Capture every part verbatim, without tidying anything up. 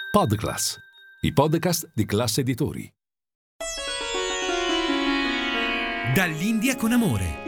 Podclass, i podcast di Class Editori. Dall'India con amore.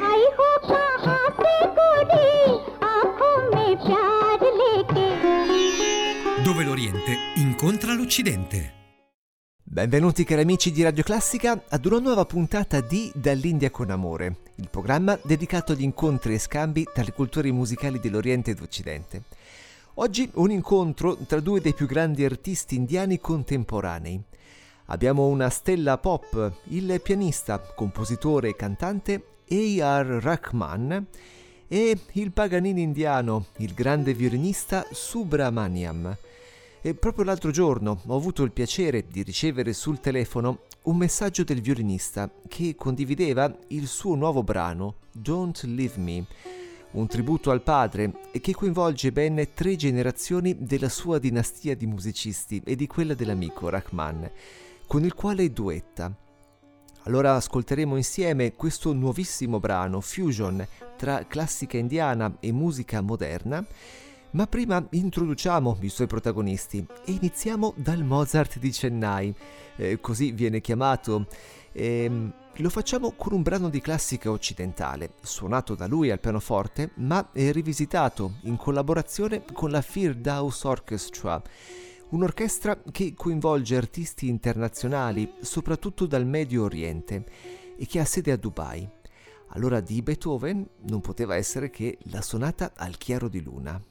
Dove l'Oriente incontra l'Occidente. Benvenuti cari amici di Radio Classica ad una nuova puntata di Dall'India con amore, il programma dedicato agli incontri e scambi tra le culture musicali dell'Oriente ed Occidente. Oggi un incontro tra due dei più grandi artisti indiani contemporanei. Abbiamo una stella pop, il pianista, compositore e cantante A R Rahman, e il Paganini indiano, il grande violinista Subramaniam. E proprio l'altro giorno ho avuto il piacere di ricevere sul telefono un messaggio del violinista che condivideva il suo nuovo brano Don't Leave Me, un tributo al padre e che coinvolge ben tre generazioni della sua dinastia di musicisti e di quella dell'amico Rahman, con il quale duetta. Allora ascolteremo insieme questo nuovissimo brano fusion tra classica indiana e musica moderna, ma prima introduciamo i suoi protagonisti e iniziamo dal Mozart di Chennai, eh, così viene chiamato. E lo facciamo con un brano di classica occidentale, suonato da lui al pianoforte, ma rivisitato in collaborazione con la Firdaus Orchestra, un'orchestra che coinvolge artisti internazionali, soprattutto dal Medio Oriente, e che ha sede a Dubai. Allora di Beethoven non poteva essere che la sonata al chiaro di luna.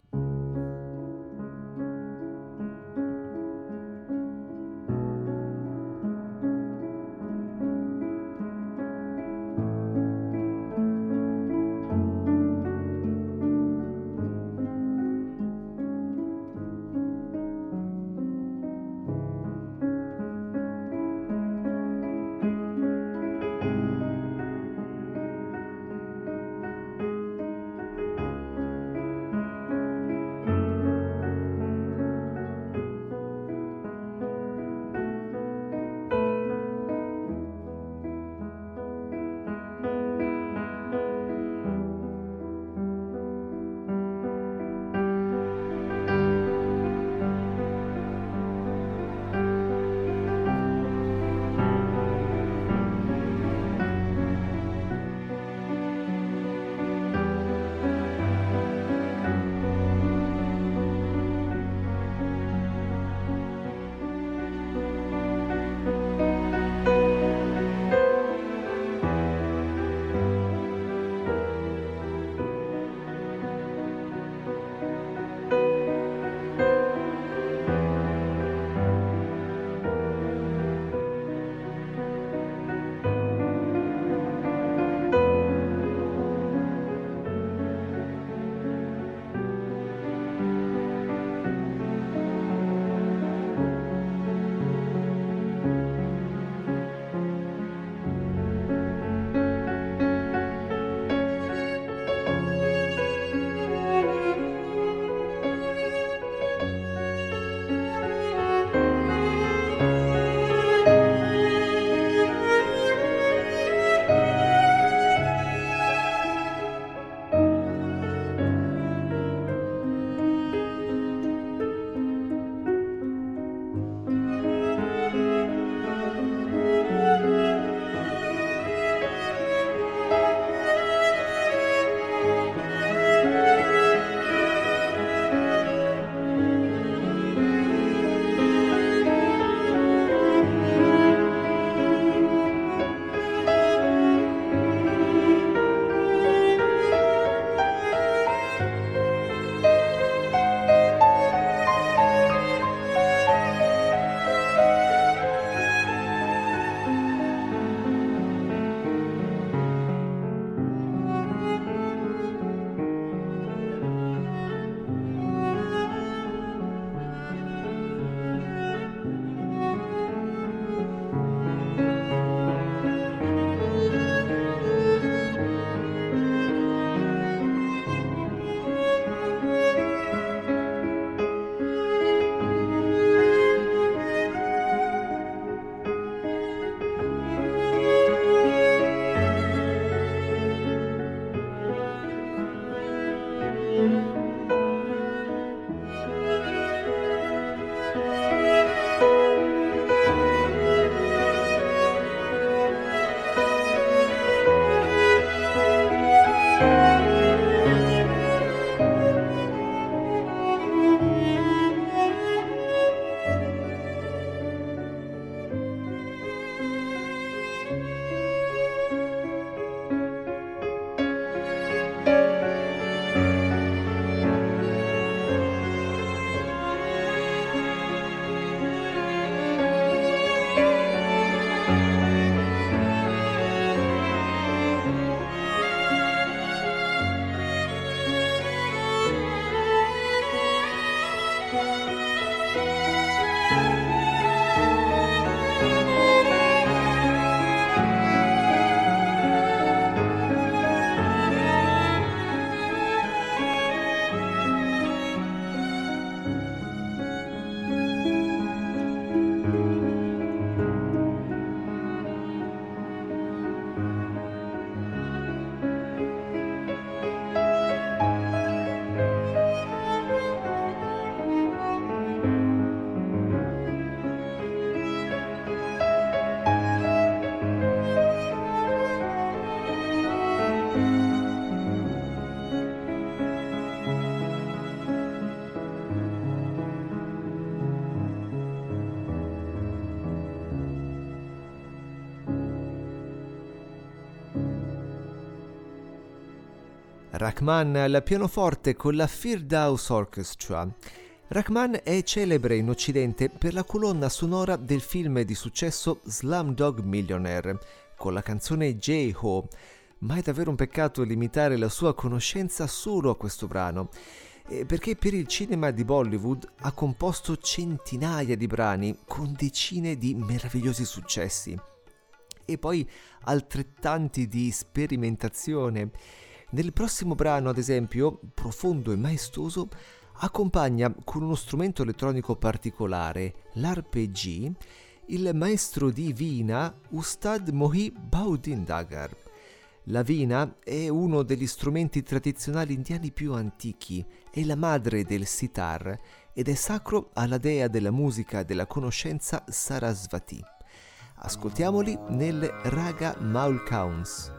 Rahman al pianoforte con la Firdaus Orchestra. Rahman è celebre in Occidente per la colonna sonora del film di successo Slumdog Millionaire, con la canzone J-Ho, ma è davvero un peccato limitare la sua conoscenza solo a questo brano, perché per il cinema di Bollywood ha composto centinaia di brani con decine di meravigliosi successi e poi altrettanti di sperimentazione. Nel prossimo brano, ad esempio, profondo e maestoso, accompagna con uno strumento elettronico particolare, l'arpeggio, il maestro di Veena Ustad Mohi Bhaudindagar. La veena è uno degli strumenti tradizionali indiani più antichi, è la madre del sitar ed è sacro alla dea della musica e della conoscenza Sarasvati. Ascoltiamoli nel Raga Maul Kauns.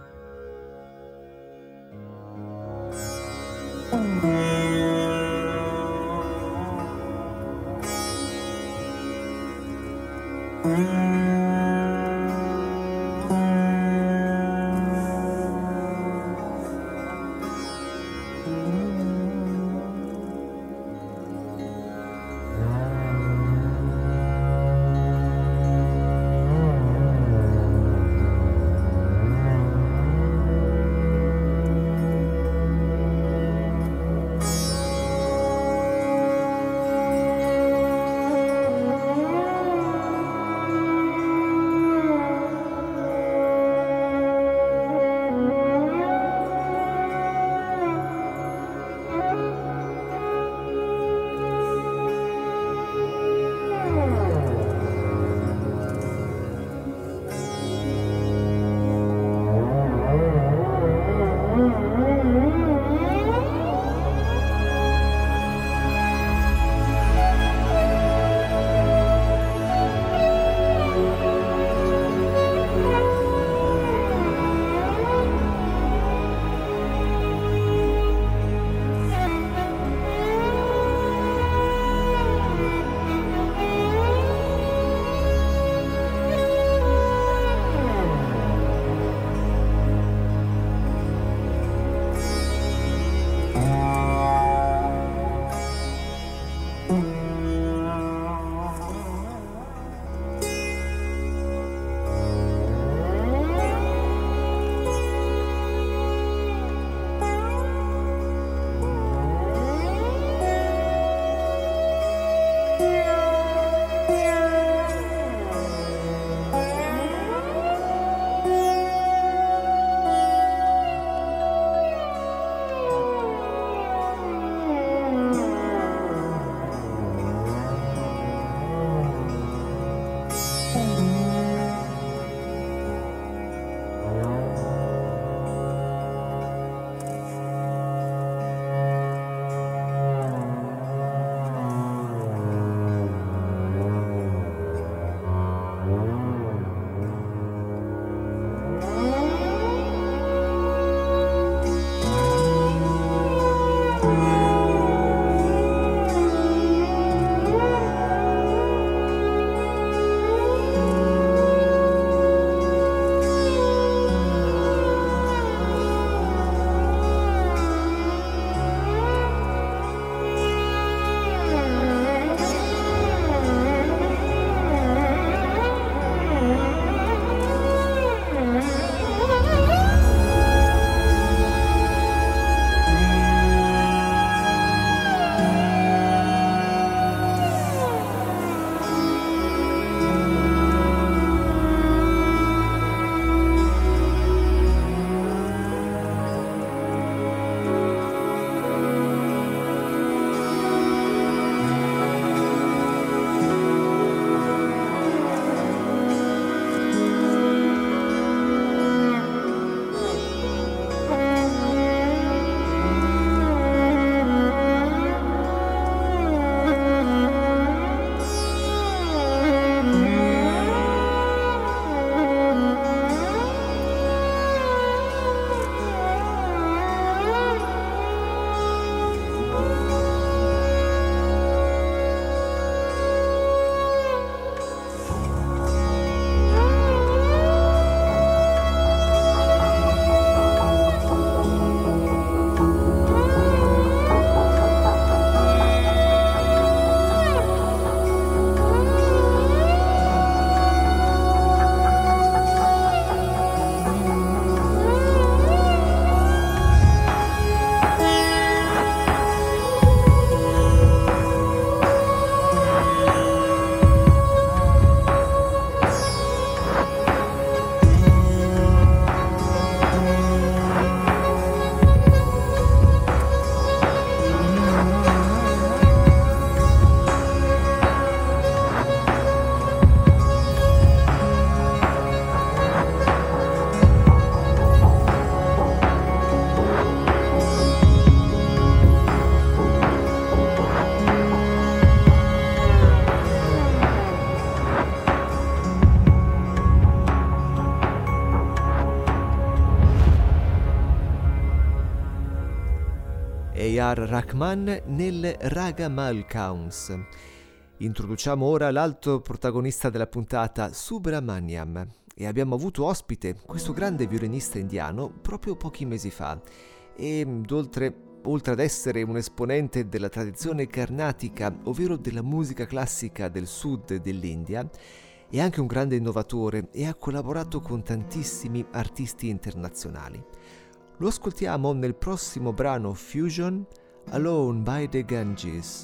A R. Rahman nel Raga Malkauns. Introduciamo ora l'altro protagonista della puntata, Subramaniam, e abbiamo avuto ospite questo grande violinista indiano proprio pochi mesi fa. E oltre, oltre ad essere un esponente della tradizione carnatica, ovvero della musica classica del sud dell'India, è anche un grande innovatore e ha collaborato con tantissimi artisti internazionali. Lo ascoltiamo nel prossimo brano Fusion, Alone by the Ganges.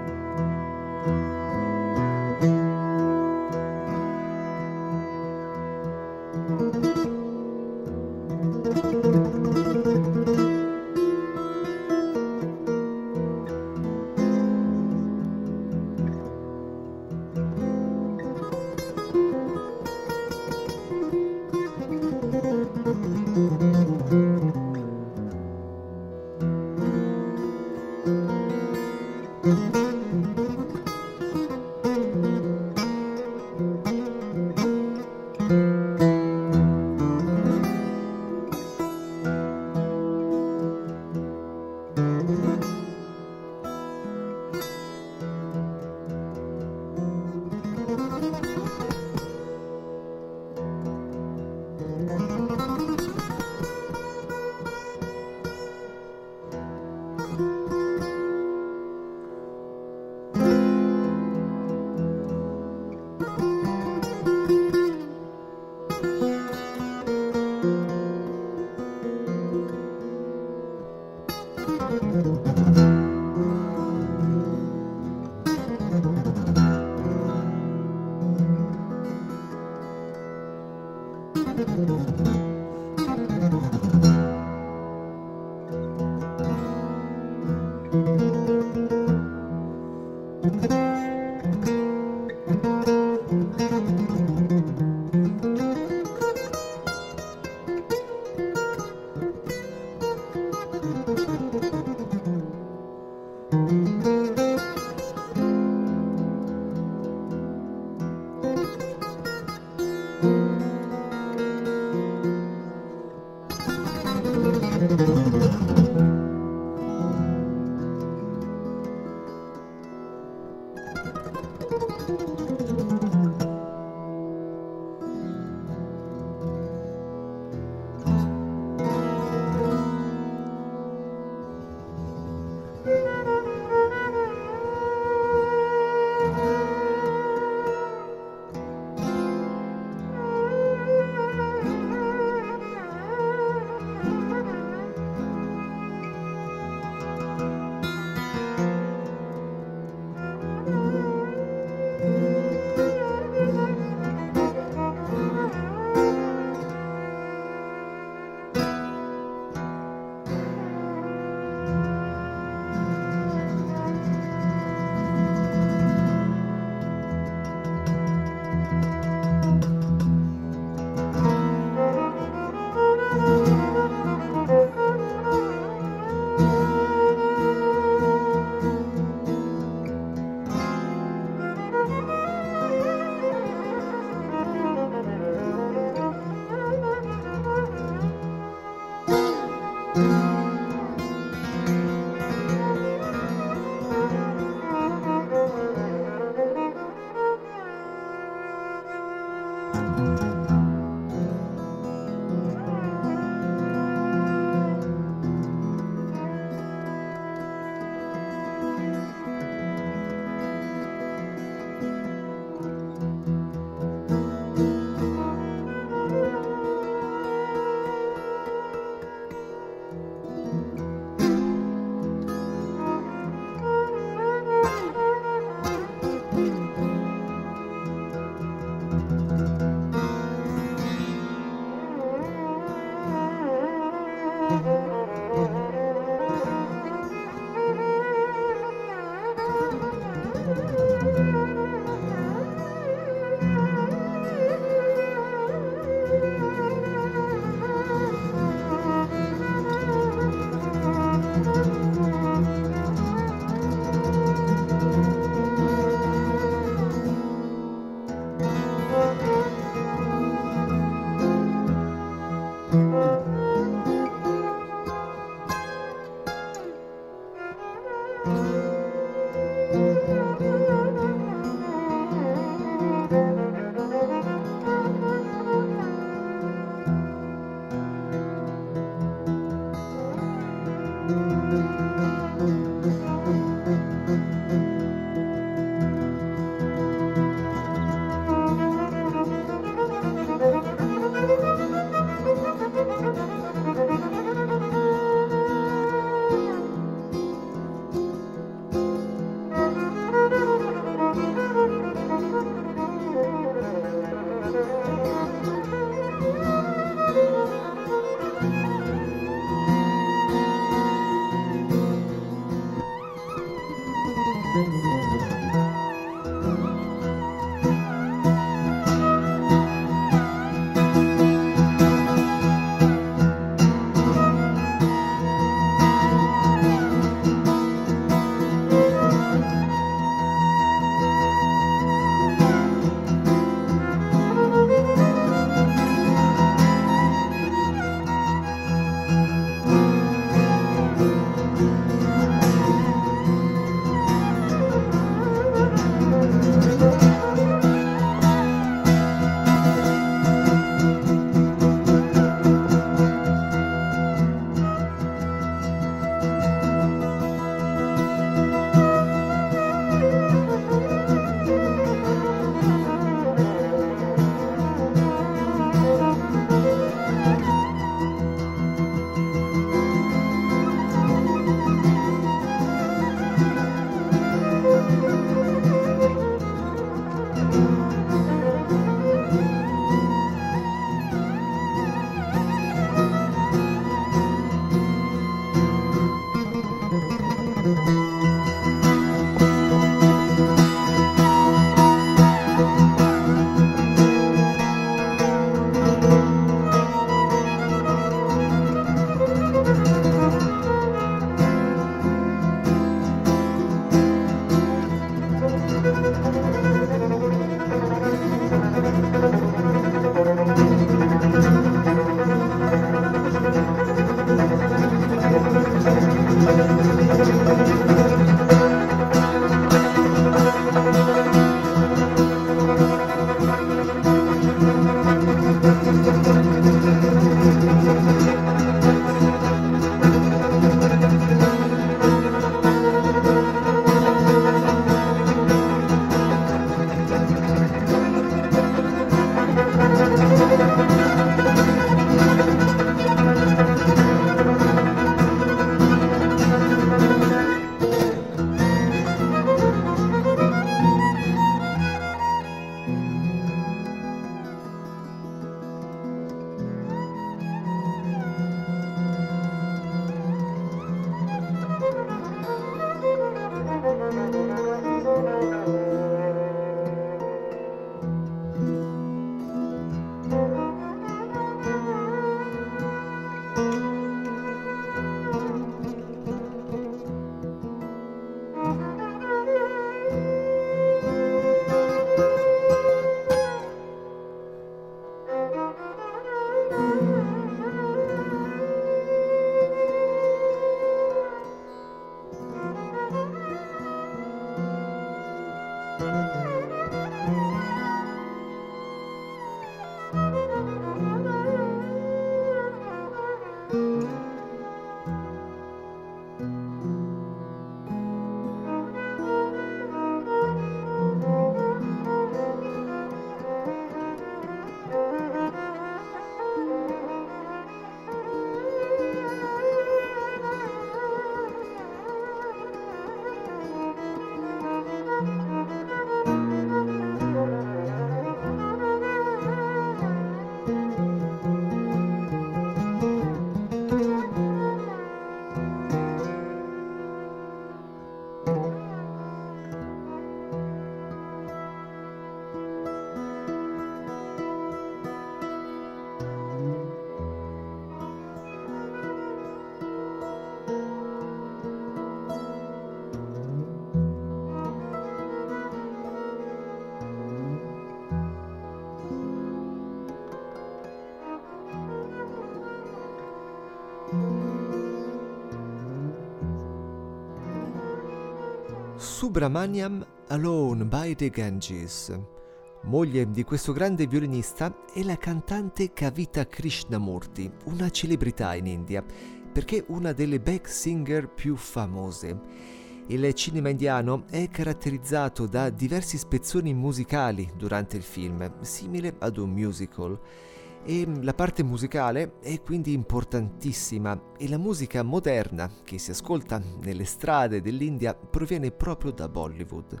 Subramaniam Alone by the Ganges. Moglie di questo grande violinista è la cantante Kavita Krishnamurti, una celebrità in India, perché una delle back singer più famose. Il cinema indiano è caratterizzato da diversi spezzoni musicali durante il film, simile ad un musical. E la parte musicale è quindi importantissima e la musica moderna che si ascolta nelle strade dell'India proviene proprio da Bollywood.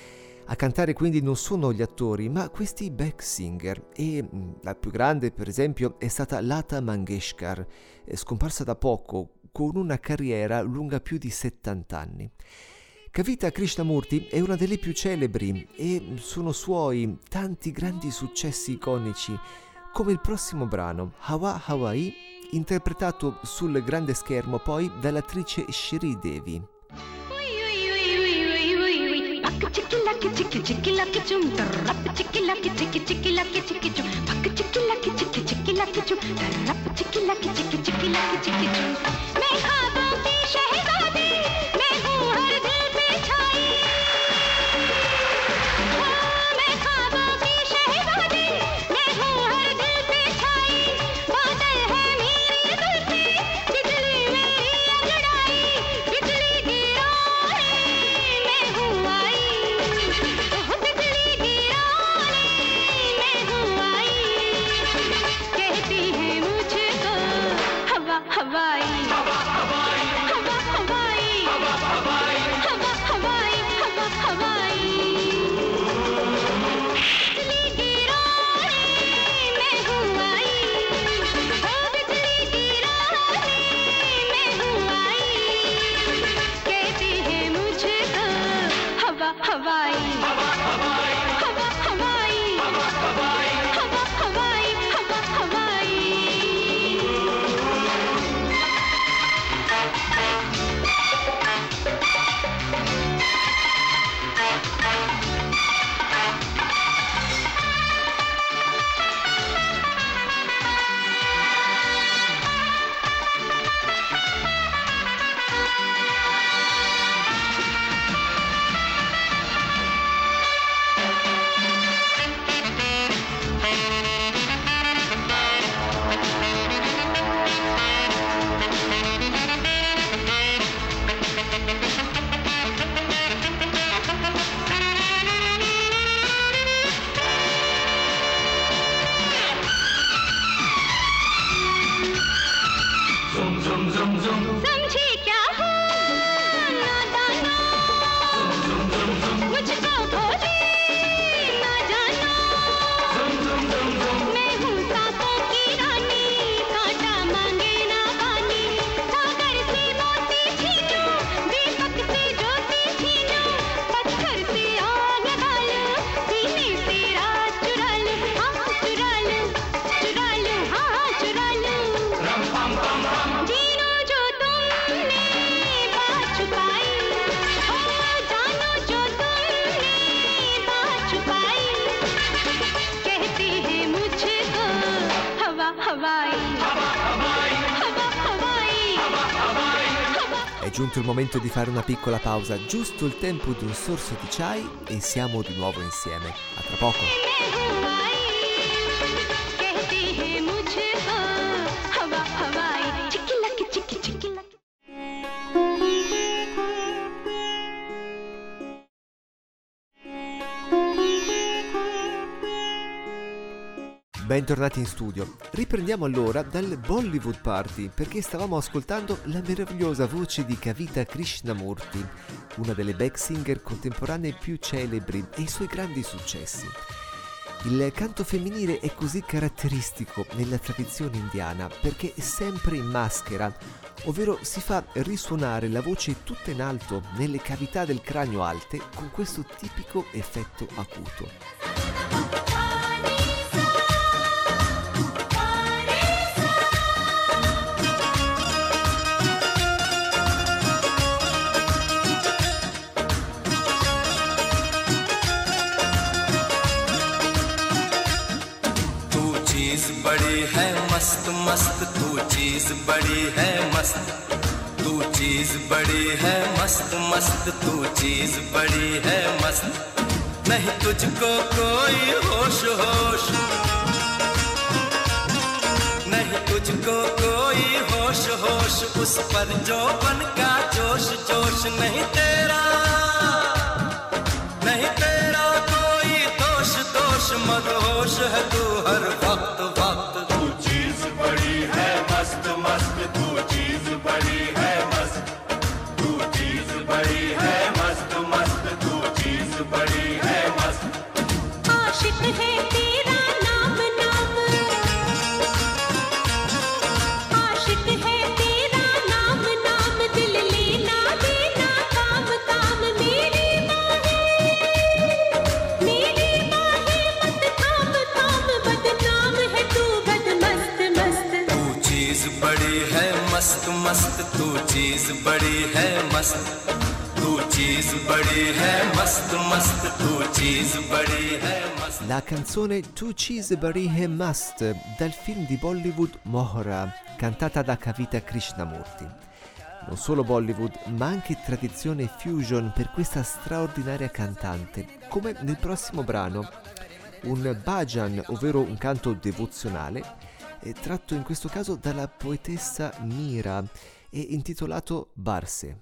A cantare quindi non sono gli attori, ma questi back singer, e la più grande per esempio è stata Lata Mangeshkar, scomparsa da poco, con una carriera lunga più di settanta anni. Kavita Krishnamurti è una delle più celebri e sono suoi tanti grandi successi iconici, come il prossimo brano, Hawa Hawaii, interpretato sul grande schermo poi dall'attrice Shree Devi. हवाई हवाई हवा हवाई हवा हवाई हवा हवाई हवा हवाई हवा हवाई समझे क्या हो नादाना मुझको भोले ना जाना मैं हूँ सांपों की रानी कांटा मांगे ना पानी सागर से मोती छीनो दीपक से ज्योति छीनो पत्थर से आग डालो सीने से रात चुरा लो हाँ चुरा लो चुरा लो हाँ चुरा लो रम पम पम पम जीनो जो तुमने बात छुपाई हो जानो जो तुमने बात छुपाई कहते हैं मुझको हवा हवाई हवा हवाई हवा हवाई हवा हवाई È giunto il momento di fare una piccola pausa, giusto il tempo di un sorso di chai e siamo di nuovo insieme. A tra poco. मैं हूँ आई कहते हैं मुझको हवा हवाई चिकी लकी चिकी चिकी lucky Bentornati in studio. Riprendiamo allora dal Bollywood Party perché stavamo ascoltando la meravigliosa voce di Kavita Krishnamurti, una delle back singer contemporanee più celebri e i suoi grandi successi. Il canto femminile è così caratteristico nella tradizione indiana perché è sempre in maschera, ovvero si fa risuonare la voce tutta in alto nelle cavità del cranio alte con questo tipico effetto acuto. बड़ी है मस्त मस्त तू चीज बड़ी है मस्त तू चीज बड़ी है मस्त मस्त तू चीज बड़ी है मस्त नहीं तुझको कोई होश होश नहीं तुझको कोई होश होश उस पर जो बन का जोश जोश नहीं तेरा नहीं तेरा कोई दोष दोष मदहोश है तू हर वक्त वक्त तू चीज बड़ी है मस्त मस्त तू चीज बड़ी है मस्त तू चीज बड़ी है मस्त मस्त तू चीज बड़ी है मस्त आशिक है तेरा नाम नाम आशिक है तेरा नाम नाम दिल लेना देना काम काम मेरी बाहें मेरी बाहें मत थाम थाम बदनाम है तू बद मस्त मस्त तू चीज बड़ी है मस्त मस्त तू चीज बड़ी है मस्त तू चीज बड़ी है मस्त मस्त तू चीज बड़ी है मस्त. La canzone Tu Cheese Bari Hai Mast dal film di Bollywood Mohra, cantata da Kavita Krishnamurti. Non solo Bollywood, ma anche tradizione fusion per questa straordinaria cantante, come nel prossimo brano, un bhajan, ovvero un canto devozionale, tratto in questo caso dalla poetessa Mira e intitolato Barse.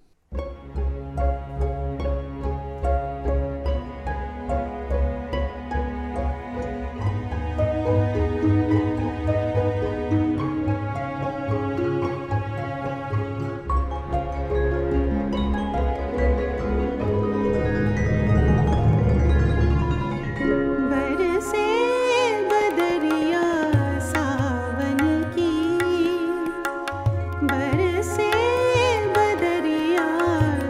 बरसे बदरिया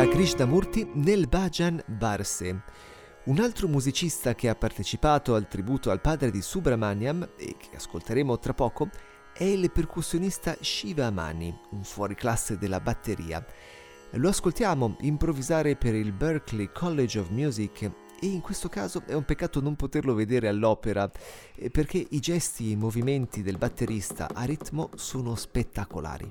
da Krishnamurti nel Bhajan Barse. Un altro musicista che ha partecipato al tributo al padre di Subramaniam e che ascolteremo tra poco è il percussionista Shiva Mani, un fuoriclasse della batteria. Lo ascoltiamo improvvisare per il Berklee College of Music e in questo caso è un peccato non poterlo vedere all'opera perché i gesti e i movimenti del batterista a ritmo sono spettacolari.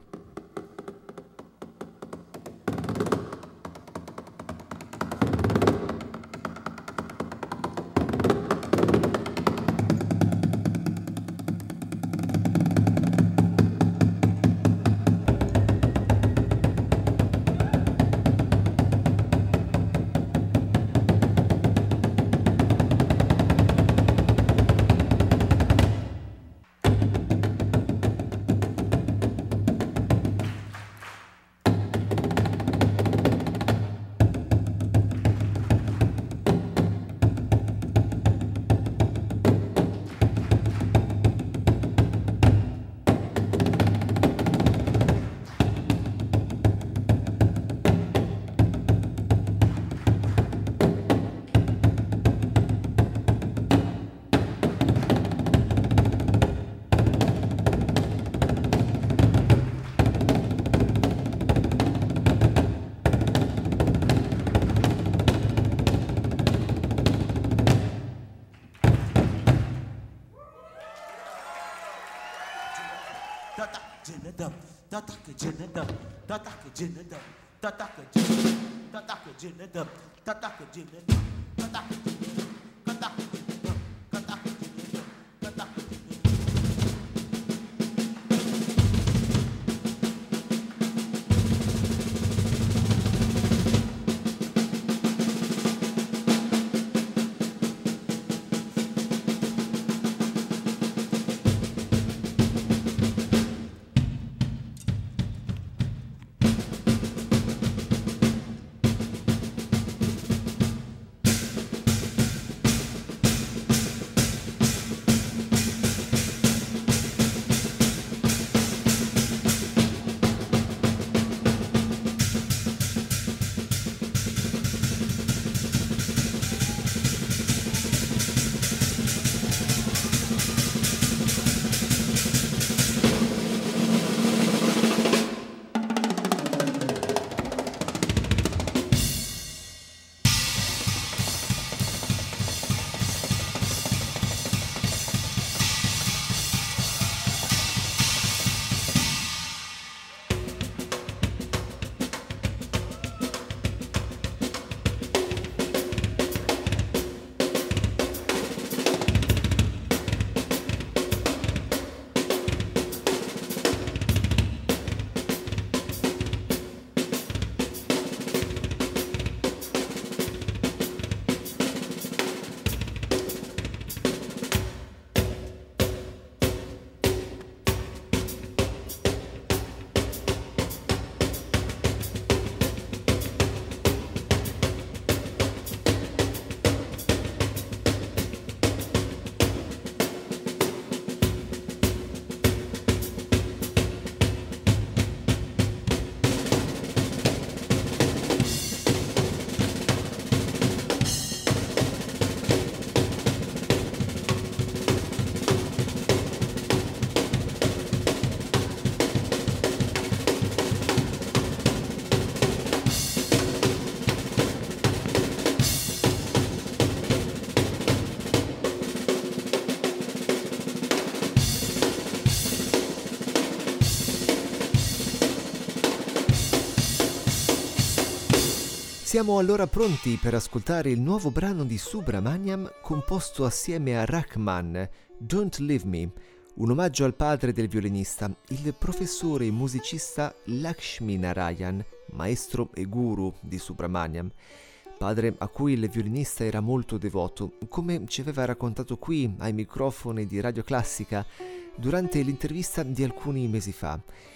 Siamo allora pronti per ascoltare il nuovo brano di Subramaniam composto assieme a Rahman, Don't Leave Me, un omaggio al padre del violinista, il professore e musicista Lakshmi Narayan, maestro e guru di Subramaniam, padre a cui il violinista era molto devoto, come ci aveva raccontato qui ai microfoni di Radio Classica durante l'intervista di alcuni mesi fa.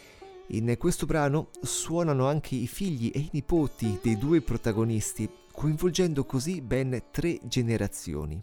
In questo brano suonano anche i figli e i nipoti dei due protagonisti, coinvolgendo così ben tre generazioni.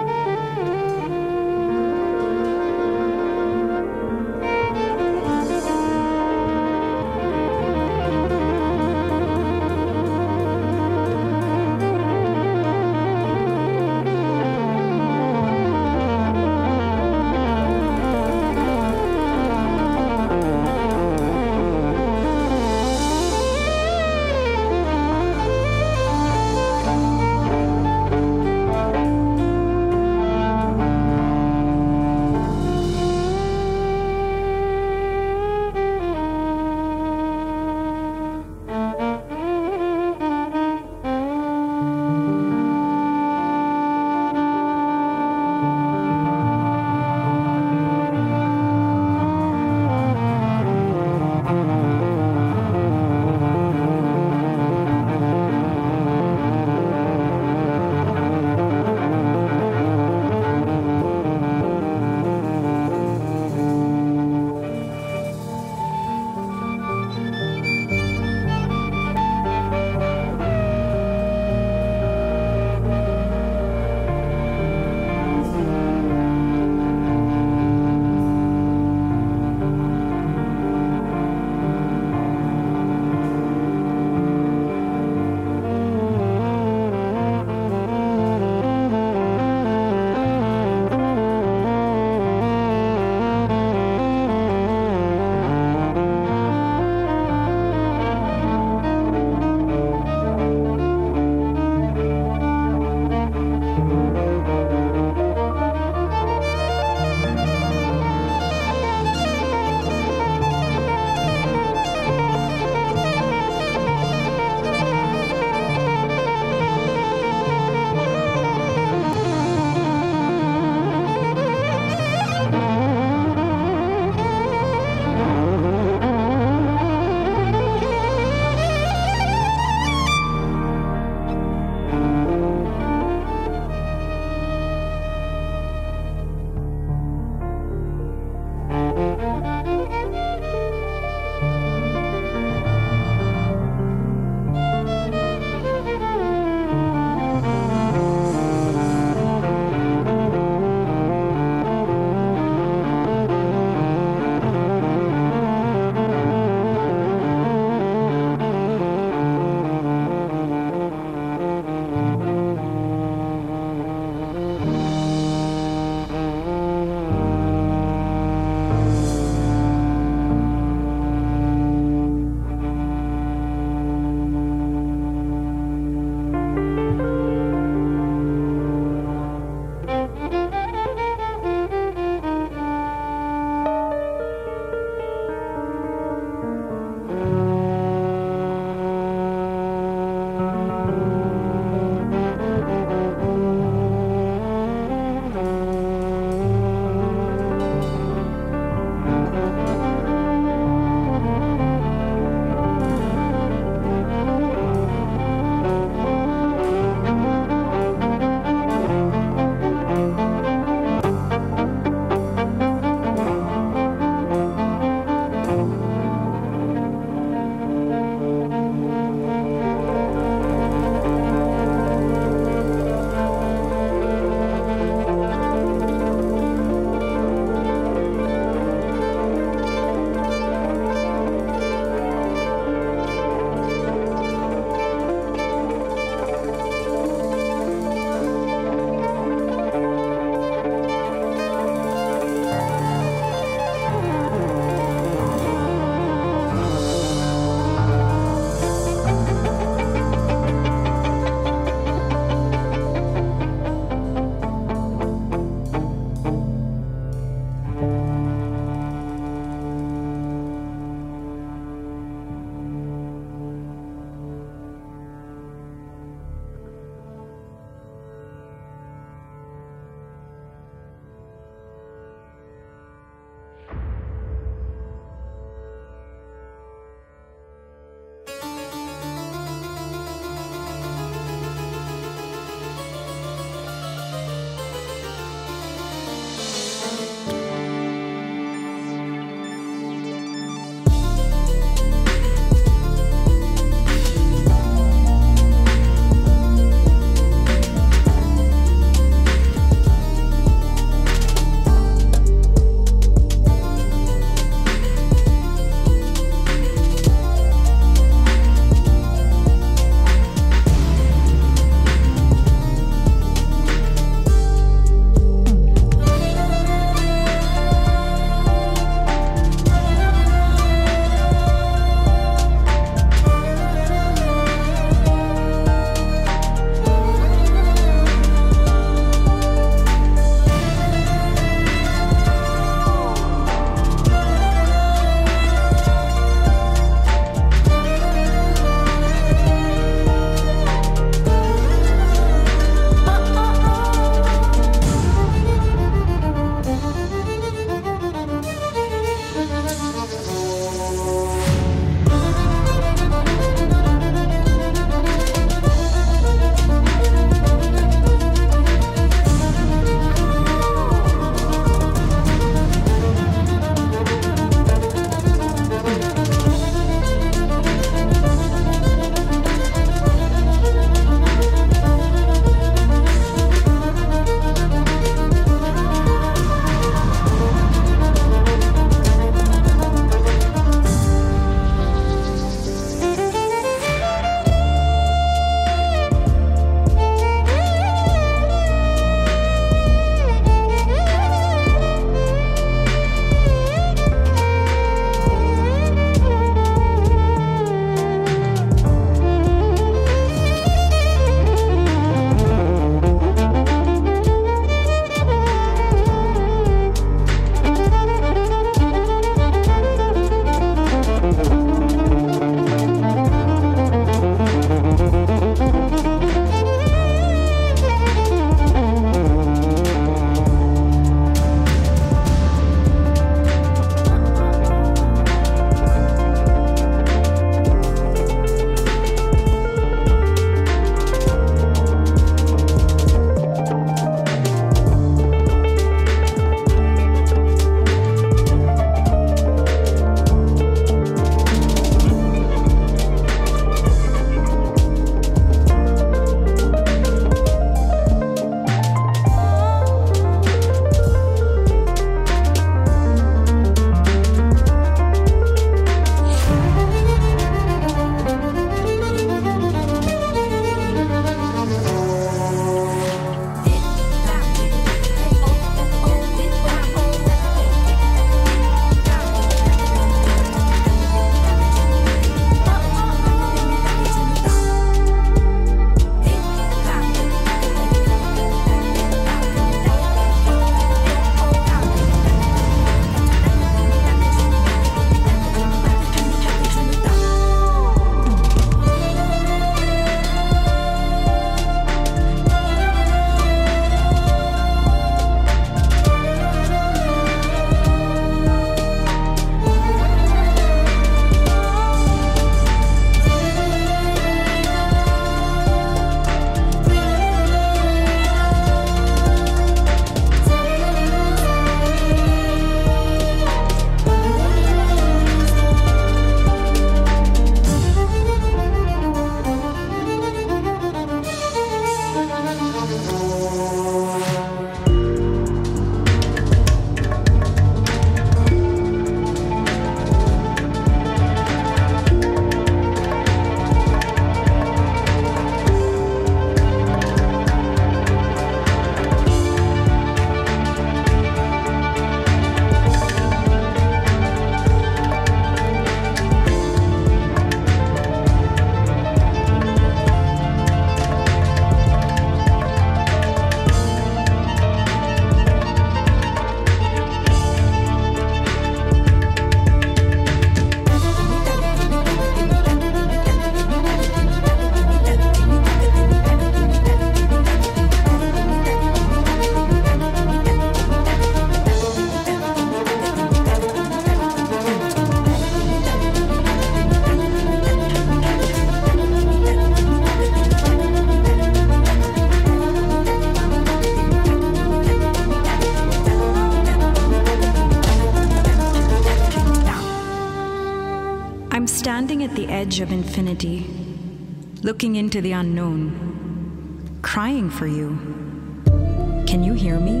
standing at the edge of infinity, looking into the unknown, crying for you. Can you hear me?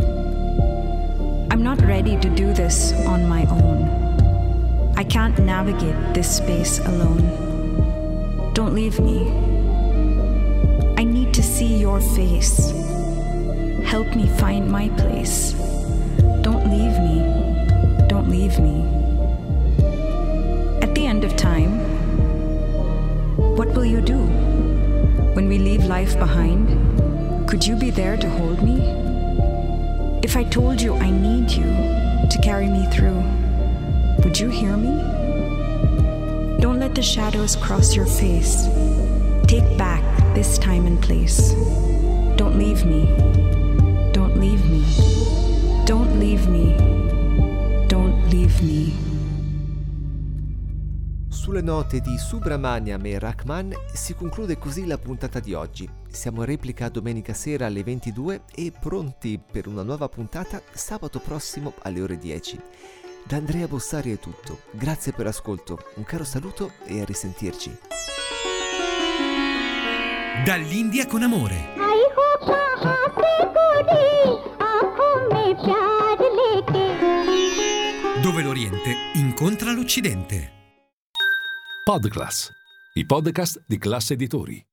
I'm not ready to do this on my own. I can't navigate this space alone. Don't leave me. I need to see your face. Help me find my place. Don't leave me. Don't leave me. At the end of time, what will you do? When we leave life behind, could you be there to hold me? If I told you I need you to carry me through, would you hear me? Don't let the shadows cross your face. Take back this time and place. Don't leave me. Don't leave me. Don't leave me. Don't leave me. Sulle note di Subramaniam e Rahman si conclude così la puntata di oggi. Siamo in replica domenica sera alle ventidue e pronti per una nuova puntata sabato prossimo alle ore dieci. Da Andrea Bossari è tutto. Grazie per l'ascolto, un caro saluto e a risentirci. Dall'India con amore. Dove l'Oriente incontra l'Occidente. Podclass, i podcast di Classe Editori.